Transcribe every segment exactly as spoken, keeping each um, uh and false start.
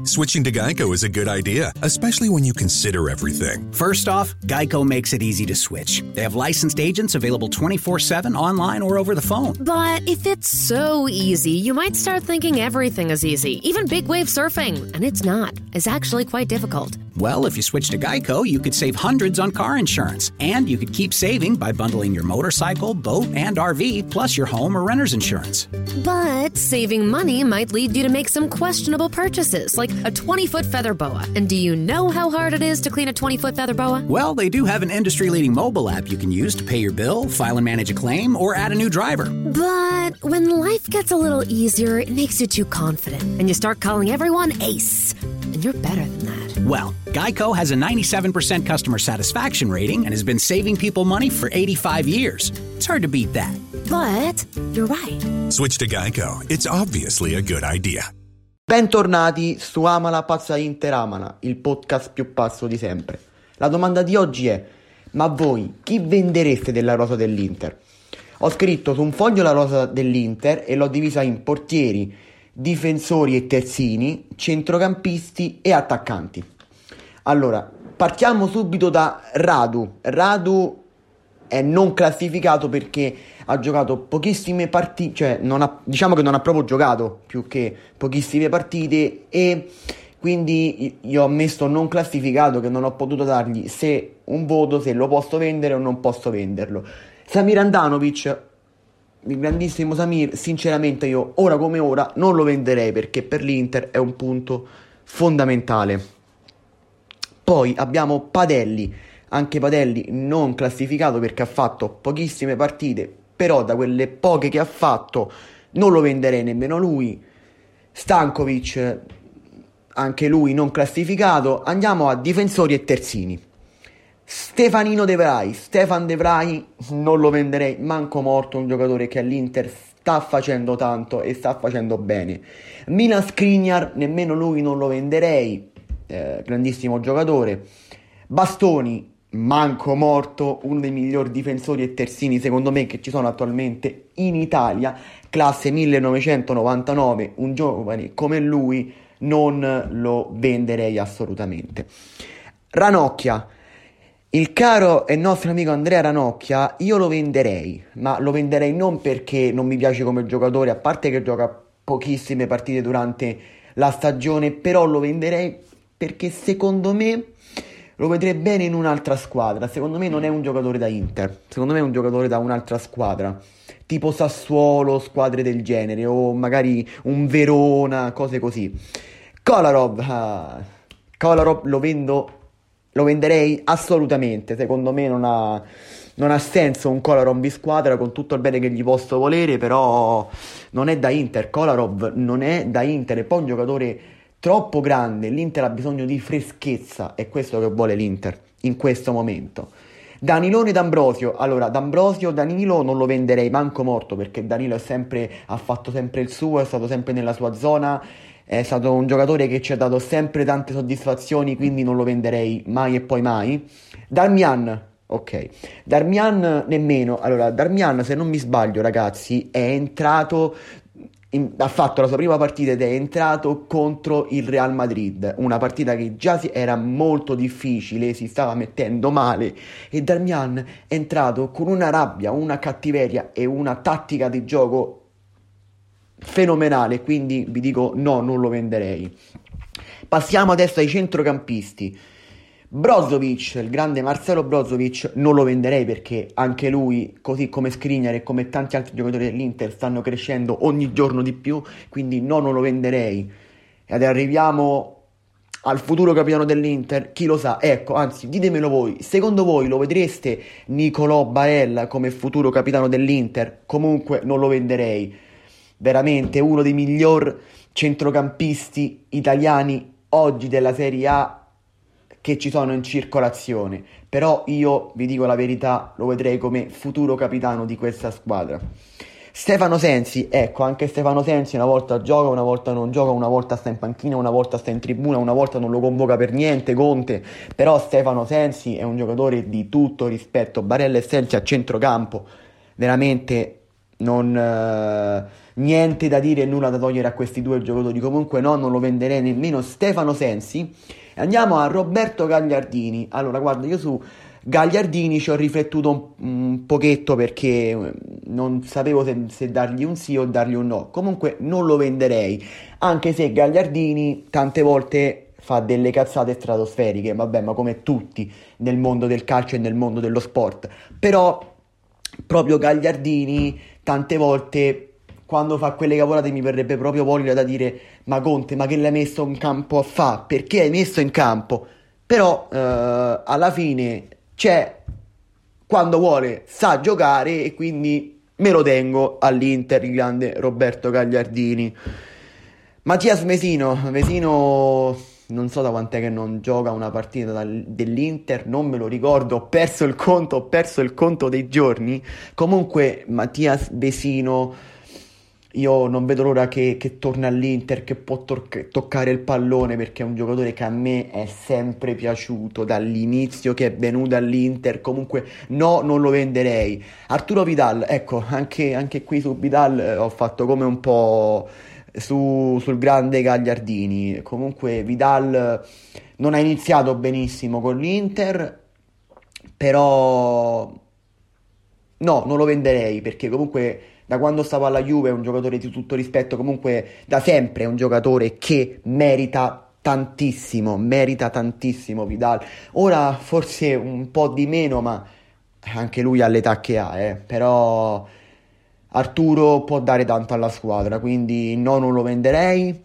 Switching to Geico is a good idea, especially when you consider everything. First off, Geico makes it easy to switch. They have licensed agents available twenty-four seven online or over the phone. But if it's so easy, you might start thinking everything is easy, even big wave surfing. And it's not. It's actually quite difficult. Well, if you switch to Geico, you could save hundreds on car insurance. And you could keep saving by bundling your motorcycle, boat, and R V, plus your home or renter's insurance. But saving money might lead you to make some questionable purchases, like a twenty-foot feather boa. And do you know how hard it is to clean a twenty-foot feather boa? Well, they do have an industry-leading mobile app you can use to pay your bill, file and manage a claim, or add a new driver. But when life gets a little easier, it makes you too confident, and you start calling everyone Ace. And you're better than that. Well, Geico has a ninety-seven percent customer satisfaction rating and has been saving people money for eighty-five years. It's hard to beat that. But you're right. Switch to Geico. It's obviously a good idea. Bentornati su Amala Pazza Inter Amala, il podcast più pazzo di sempre. La domanda di oggi è: ma voi chi vendereste della rosa dell'Inter? Ho scritto su un foglio la rosa dell'Inter e l'ho divisa in portieri, difensori e terzini, centrocampisti e attaccanti. Allora, partiamo subito da Radu. Radu è non classificato perché ha giocato pochissime partite, cioè non ha, diciamo che non ha proprio giocato più che pochissime partite, e quindi io ho messo non classificato, che non ho potuto dargli se un voto, se lo posso vendere o non posso venderlo. Samir Handanovic, il grandissimo Samir, sinceramente io ora come ora non lo venderei perché per l'Inter è un punto fondamentale. Poi abbiamo Padelli, anche Padelli non classificato perché ha fatto pochissime partite, però da quelle poche che ha fatto non lo venderei nemmeno lui. Stankovic, anche lui non classificato. Andiamo a difensori e terzini. Stefanino De Vrij, Stefan De Vrij non lo venderei manco morto, un giocatore che all'Inter sta facendo tanto e sta facendo bene. Milan Skriniar, nemmeno lui non lo venderei, eh, grandissimo giocatore. Bastoni, manco morto, uno dei migliori difensori e terzini secondo me che ci sono attualmente in Italia, classe millenovecentonovantanove, un giovane come lui non lo venderei assolutamente. Ranocchia, il caro e nostro amico Andrea Ranocchia, io lo venderei, ma lo venderei non perché non mi piace come giocatore, a parte che gioca pochissime partite durante la stagione, però lo venderei perché secondo me lo vedrei bene in un'altra squadra. Secondo me non è un giocatore da Inter, secondo me è un giocatore da un'altra squadra, tipo Sassuolo, squadre del genere, o magari un Verona, cose così. Kolarov, ah, Kolarov lo vendo, lo venderei assolutamente. Secondo me non ha, non ha senso un Kolarov in squadra, con tutto il bene che gli posso volere, però non è da Inter. Kolarov non è da Inter, è poi un giocatore troppo grande. L'Inter ha bisogno di freschezza, è questo che vuole l'Inter in questo momento. Danilone D'Ambrosio, allora D'Ambrosio, Danilo non lo venderei manco morto perché Danilo è sempre, ha fatto sempre il suo, è stato sempre nella sua zona, è stato un giocatore che ci ha dato sempre tante soddisfazioni, quindi non lo venderei mai e poi mai. Darmian, ok, Darmian nemmeno. Allora Darmian, se non mi sbaglio ragazzi, è entrato In, ha fatto la sua prima partita ed è entrato contro il Real Madrid, una partita che già si, era molto difficile, si stava mettendo male, e Darmian è entrato con una rabbia, una cattiveria e una tattica di gioco fenomenale, quindi vi dico no, non lo venderei. Passiamo adesso ai centrocampisti. Brozovic, il grande Marcelo Brozovic, non lo venderei perché anche lui, così come Skriniar e come tanti altri giocatori dell'Inter, stanno crescendo ogni giorno di più, quindi no, non lo venderei. Ed arriviamo al futuro capitano dell'Inter, chi lo sa, ecco, anzi ditemelo voi, secondo voi lo vedreste Nicolò Barella come futuro capitano dell'Inter? Comunque non lo venderei, veramente uno dei miglior centrocampisti italiani oggi della Serie A che ci sono in circolazione, però io vi dico la verità, lo vedrei come futuro capitano di questa squadra. Stefano Sensi, ecco, anche Stefano Sensi una volta gioca, una volta non gioca, una volta sta in panchina, una volta sta in tribuna, una volta non lo convoca per niente Conte, però Stefano Sensi è un giocatore di tutto rispetto. Barella e Sensi a centrocampo veramente non, eh, niente da dire e nulla da togliere a questi due giocatori. Comunque no, non lo venderei nemmeno Stefano Sensi. Andiamo a Roberto Gagliardini. Allora guarda, io su Gagliardini ci ho riflettuto un, un pochetto perché non sapevo se, se dargli un sì o dargli un no. Comunque non lo venderei, anche se Gagliardini tante volte fa delle cazzate stratosferiche, vabbè, ma come tutti nel mondo del calcio e nel mondo dello sport. Però proprio Gagliardini tante volte quando fa quelle cavolate mi verrebbe proprio voglia da dire: ma Conte, ma che l'hai messo in campo a fa? Perché hai messo in campo? Però eh, alla fine c'è, quando vuole sa giocare, e quindi me lo tengo all'Inter il grande Roberto Gagliardini. Mattias Vesino, Vesino non so da quant'è che non gioca una partita dal, dell'Inter, non me lo ricordo, ho perso il conto, ho perso il conto dei giorni. Comunque Mattias Vesino, io non vedo l'ora che, che torna all'Inter, che può tor- toccare il pallone, perché è un giocatore che a me è sempre piaciuto dall'inizio che è venuto all'Inter. Comunque no, non lo venderei. Arturo Vidal, ecco, anche, anche qui su Vidal eh, ho fatto come un po' su, sul grande Gagliardini. Comunque Vidal non ha iniziato benissimo con l'Inter, però no, non lo venderei, perché comunque da quando stava alla Juve è un giocatore di tutto rispetto, comunque da sempre è un giocatore che merita tantissimo, merita tantissimo Vidal. Ora forse un po' di meno, ma anche lui ha l'età che ha, eh. Però Arturo può dare tanto alla squadra, quindi no, non lo venderei.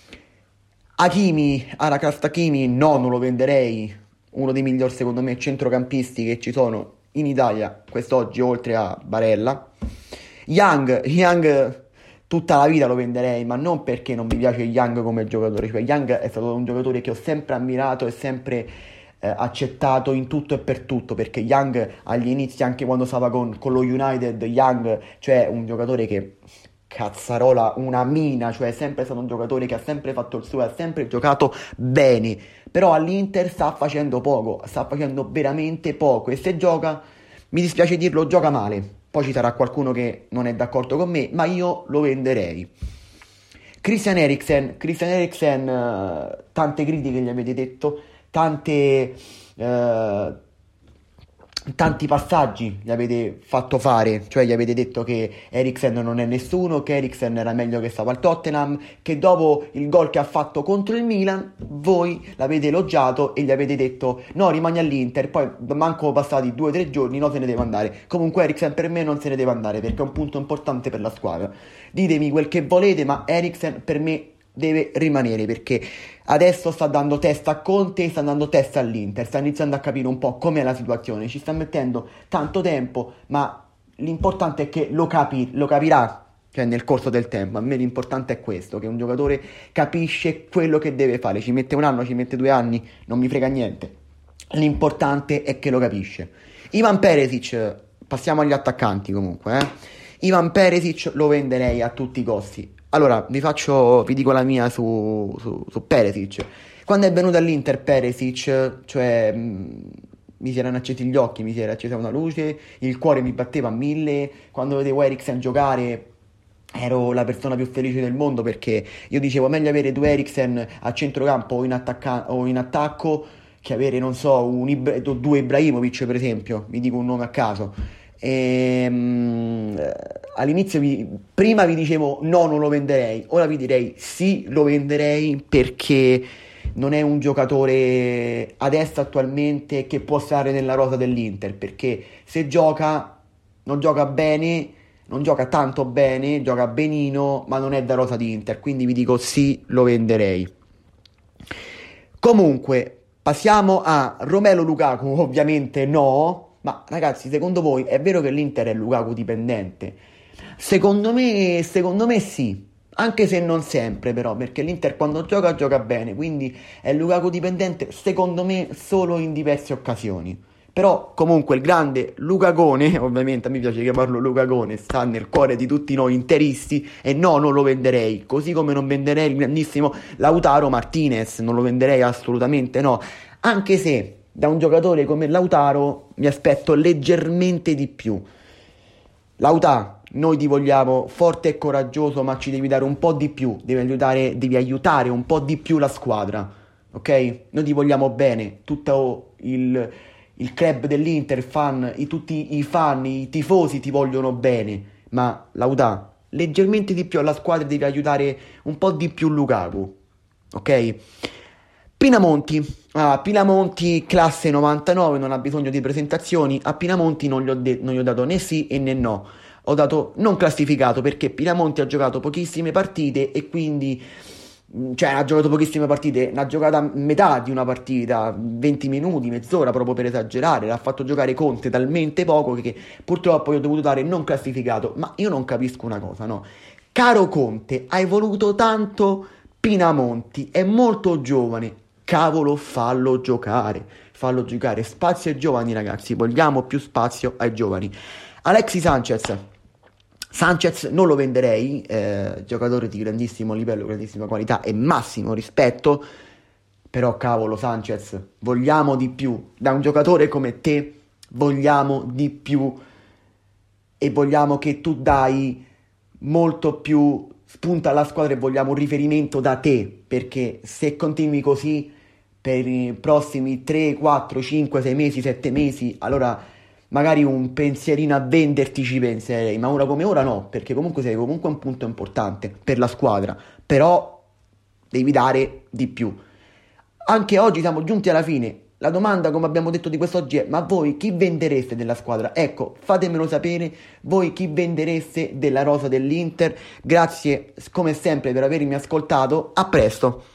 Hakimi, Aracast Hakimi, no, non lo venderei. Uno dei migliori secondo me centrocampisti che ci sono in Italia quest'oggi, oltre a Barella. Young, Young tutta la vita lo venderei, ma non perché non mi piace Young come giocatore. Cioè Young è stato un giocatore che ho sempre ammirato e sempre eh, accettato in tutto e per tutto, perché Young agli inizi, anche quando stava con, con lo United, Young, cioè un giocatore che cazzarola, una mina, cioè è sempre stato un giocatore che ha sempre fatto il suo, ha sempre giocato bene. Però all'Inter sta facendo poco, sta facendo veramente poco, e se gioca, mi dispiace dirlo, gioca male. Poi ci sarà qualcuno che non è d'accordo con me, ma io lo venderei. Christian Eriksen, Christian Eriksen, uh, tante critiche gli avete detto, tante, uh, tanti passaggi gli avete fatto fare, cioè gli avete detto che Eriksen non è nessuno, che Eriksen era meglio che stava al Tottenham, che dopo il gol che ha fatto contro il Milan voi l'avete elogiato e gli avete detto no, rimani all'Inter. Poi manco passati due o tre giorni, no, se ne deve andare. Comunque Eriksen per me non se ne deve andare, perché è un punto importante per la squadra. Ditemi quel che volete, ma Eriksen per me deve rimanere, perché adesso sta dando testa a Conte, sta dando testa all'Inter, sta iniziando a capire un po' com'è la situazione, ci sta mettendo tanto tempo, ma l'importante è che lo, capi, lo capirà, cioè nel corso del tempo. A me l'importante è questo, che un giocatore capisce quello che deve fare, ci mette un anno, ci mette due anni, non mi frega niente, l'importante è che lo capisce. Ivan Perisic, passiamo agli attaccanti comunque, eh. Ivan Perisic lo venderei a tutti i costi. Allora, vi faccio, vi dico la mia su, su, su Perisic. Quando è venuto all'Inter Perisic, cioè mh, mi si erano accesi gli occhi, mi si era accesa una luce, il cuore mi batteva a mille. Quando vedevo Eriksen giocare ero la persona più felice del mondo, perché io dicevo meglio avere due Eriksen a centrocampo o in, attacca- o in attacco che avere, non so, un Ibra- due Ibrahimovic per esempio, vi dico un nome a caso. E, um, all'inizio vi, prima vi dicevo no, non lo venderei, ora vi direi sì, lo venderei, perché non è un giocatore adesso attualmente che può stare nella rosa dell'Inter, perché se gioca non gioca bene, non gioca tanto bene, gioca benino, ma non è da rosa di Inter, quindi vi dico sì, lo venderei. Comunque passiamo a Romelu Lukaku. Ovviamente no. Ma ragazzi, secondo voi è vero che l'Inter è Lukaku dipendente? Secondo me, secondo me sì, anche se non sempre però, perché l'Inter quando gioca gioca bene, quindi è Lukaku dipendente secondo me solo in diverse occasioni. Però comunque il grande Lukagone, ovviamente a me piace chiamarlo Lukagone, sta nel cuore di tutti noi interisti, e no, non lo venderei, così come non venderei il grandissimo Lautaro Martinez, non lo venderei assolutamente no, anche se da un giocatore come Lautaro mi aspetto leggermente di più. Lautaro, noi ti vogliamo forte e coraggioso, ma ci devi dare un po' di più, devi aiutare, devi aiutare un po' di più la squadra, ok? Noi ti vogliamo bene, tutto il, il club dell'Inter, fan, i, tutti i fan, i tifosi ti vogliono bene, ma Lautà, leggermente di più alla squadra, devi aiutare un po' di più Lukaku, ok? Pinamonti, ah, Pinamonti classe novantanove, non ha bisogno di presentazioni. A Pinamonti non gli ho, de- non gli ho dato né sì e né no, ho dato non classificato perché Pinamonti ha giocato pochissime partite e quindi, cioè ha giocato pochissime partite, ne ha giocata metà di una partita, venti minuti, mezz'ora proprio per esagerare, l'ha fatto giocare Conte talmente poco che purtroppo io ho dovuto dare non classificato. Ma io non capisco una cosa, no? Caro Conte, hai voluto tanto Pinamonti, è molto giovane, cavolo, fallo giocare, fallo giocare, spazio ai giovani ragazzi, vogliamo più spazio ai giovani. Alexis Sanchez, Sanchez non lo venderei, eh, giocatore di grandissimo livello, grandissima qualità e massimo rispetto, però cavolo Sanchez, vogliamo di più, da un giocatore come te vogliamo di più e vogliamo che tu dai molto più spunta alla squadra e vogliamo un riferimento da te, perché se continui così per i prossimi tre, quattro, cinque, sei mesi, sette mesi, allora magari un pensierino a venderti ci penserei, ma ora come ora no, perché comunque sei comunque un punto importante per la squadra, però devi dare di più. Anche oggi siamo giunti alla fine. La domanda, come abbiamo detto, di quest'oggi è: ma voi chi vendereste della squadra? Ecco, fatemelo sapere, voi chi vendereste della rosa dell'Inter. Grazie come sempre per avermi ascoltato, a presto.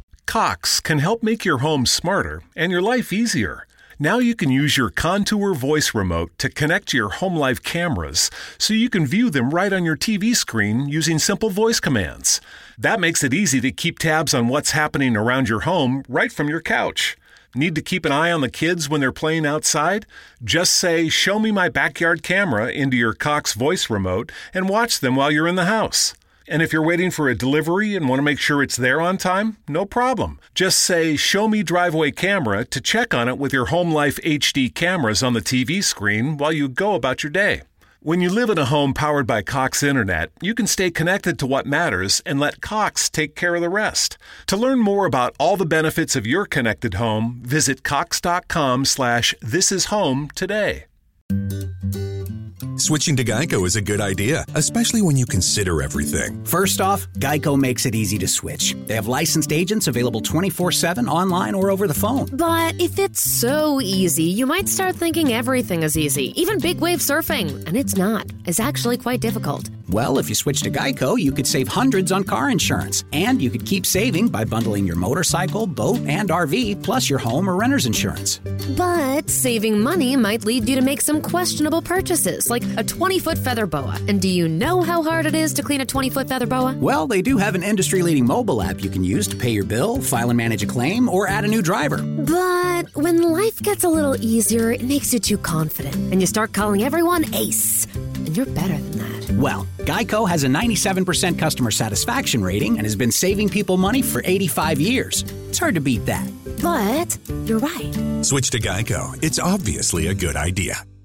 Cox can help make your home smarter and your life easier. Now you can use your Contour voice remote to connect to your home life cameras so you can view them right on your T V screen using simple voice commands. That makes it easy to keep tabs on what's happening around your home right from your couch. Need to keep an eye on the kids when they're playing outside? Just say, "Show me my backyard camera" into your Cox voice remote and watch them while you're in the house. And if you're waiting for a delivery and want to make sure it's there on time, no problem. Just say, "Show me driveway camera" to check on it with your Home Life H D cameras on the T V screen while you go about your day. When you live in a home powered by Cox Internet, you can stay connected to what matters and let Cox take care of the rest. To learn more about all the benefits of your connected home, visit cox.com slash this is home today. Switching to Geico is a good idea, especially when you consider everything. First off, Geico makes it easy to switch. They have licensed agents available twenty-four seven online or over the phone. But if it's so easy, you might start thinking everything is easy, even big wave surfing. And it's not. It's actually quite difficult. Well, if you switch to Geico, you could save hundreds on car insurance. And you could keep saving by bundling your motorcycle, boat, and R V, plus your home or renter's insurance. But saving money might lead you to make some questionable purchases, like a twenty-foot feather boa. And do you know how hard it is to clean a twenty-foot feather boa? Well, they do have an industry-leading mobile app you can use to pay your bill, file and manage a claim, or add a new driver. But when life gets a little easier, it makes you too confident, and you start calling everyone Ace. And you're better than that. Well, Geico has a ninety-seven percent customer satisfaction rating and has been saving people money for eighty-five years. It's hard to beat that. But you're right. Switch to Geico. It's obviously a good idea.